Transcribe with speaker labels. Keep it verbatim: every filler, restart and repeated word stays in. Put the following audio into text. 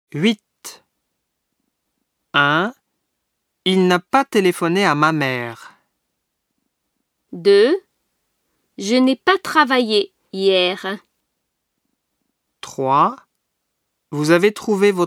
Speaker 1: huit. un. Il n'a pas téléphoné à ma mère.
Speaker 2: deux. Je n'ai pas travaillé hier.
Speaker 1: trois. Vous avez trouvé votre clé ?